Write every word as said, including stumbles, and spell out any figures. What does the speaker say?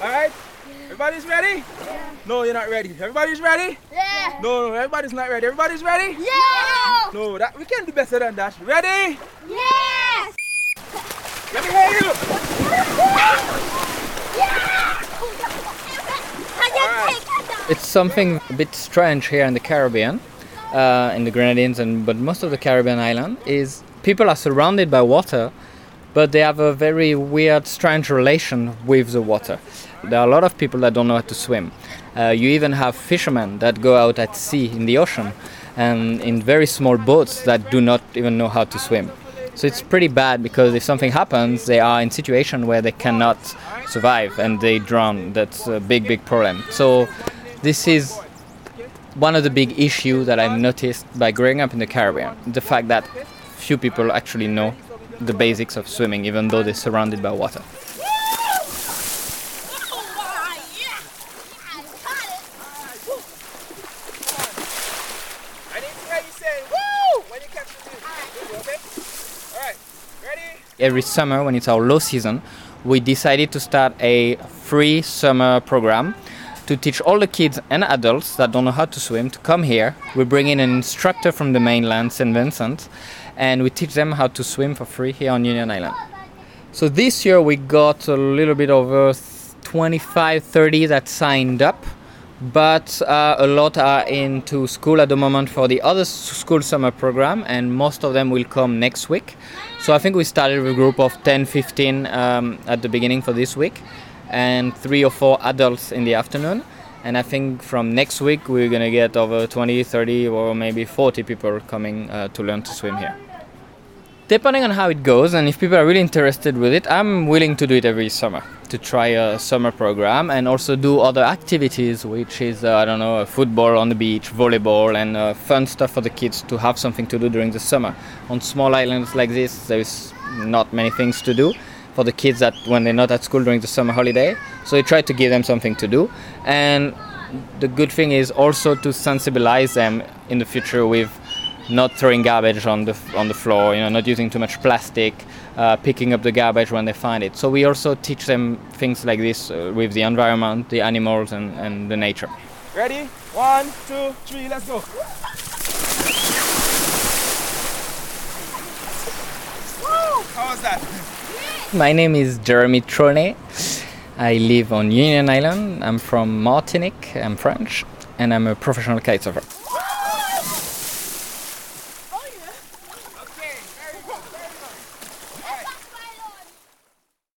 Alright? Everybody's ready? Yeah. No, you're not ready. Everybody's ready? Yeah. No, no, everybody's not ready. Everybody's ready? Yeah. No, that we can do better than that. Ready? Yes. Let me hear you. Yeah. It's something a bit strange here in the Caribbean, uh, in the Grenadines, and but most of the Caribbean island is people are surrounded by water, but they have a very weird, strange relation with the water. There are a lot of people that don't know how to swim. Uh, you even have fishermen that go out at sea in the ocean and in very small boats that do not even know how to swim. So it's pretty bad because if something happens, they are in a situation where they cannot survive and they drown. That's a big, big problem. So this is one of the big issues that I've noticed by growing up in the Caribbean. The fact that few people actually know the basics of swimming, even though they're surrounded by water. Every summer, when it's our low season, we decided to start a free summer program to teach all the kids and adults that don't know how to swim to come here. We bring in an instructor from the mainland, Saint Vincent, and we teach them how to swim for free here on Union Island. So this year we got a little bit over twenty-five, thirty that signed up, but uh, a lot are into school at the moment for the other school summer program, and most of them will come next week. So I think we started with a group of ten, fifteen um, at the beginning for this week, and three or four adults in the afternoon. And I think from next week we're going to get over twenty, thirty or maybe forty people coming uh, to learn to swim here. Depending on how it goes, and if people are really interested with it, I'm willing to do it every summer, to try a summer program and also do other activities, which is, uh, I don't know, football on the beach, volleyball, and uh, fun stuff for the kids to have something to do during the summer. On small islands like this, there's not many things to do for the kids that when they're not at school during the summer holiday. So we try to give them something to do. And the good thing is also to sensibilize them in the future with not throwing garbage on the on the floor, you know, not using too much plastic, uh, picking up the garbage when they find it. So we also teach them things like this uh, with the environment, the animals, and, and the nature. Ready? One, two, three, let's go. Woo! How was that? My name is Jeremy Tronet. I live on Union Island. I'm from Martinique. I'm French, and I'm a professional kitesurfer.